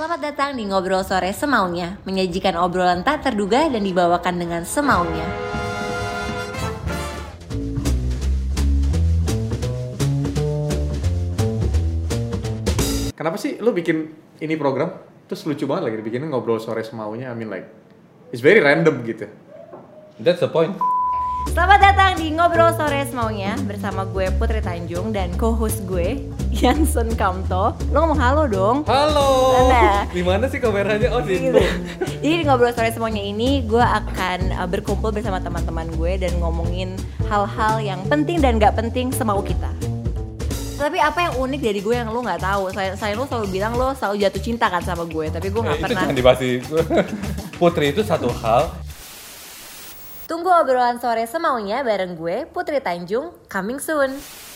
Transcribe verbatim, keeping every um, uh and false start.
Selamat datang di Ngobrol Sore Semaunya, menyajikan obrolan tak terduga dan dibawakan dengan semaunya. Kenapa sih lu bikin ini program? Terus lucu banget lagi dibikinnya Ngobrol Sore Semaunya. I mean like, it's very random gitu. That's the point. Selamat datang di Ngobrol Sore Semaunya bersama gue Putri Tanjung dan co-host gue Yansen Kamto. Lo ngomong halo dong. Halo. Mana? Di mana sih kameranya? Oh di Gitu. Jadi di Ngobrol Sore Semaunya ini gue akan uh, berkumpul bersama teman-teman gue dan ngomongin hal-hal yang penting dan gak penting semau kita. Tapi apa yang unik dari gue yang lo nggak tahu? Saya, saya lo selalu bilang lo selalu jatuh cinta kan sama gue, tapi gue nggak eh, pernah. Itu jangan dibahas. Putri itu satu hal. Tunggu obrolan sore semaunya bareng gue Putri Tanjung, coming soon.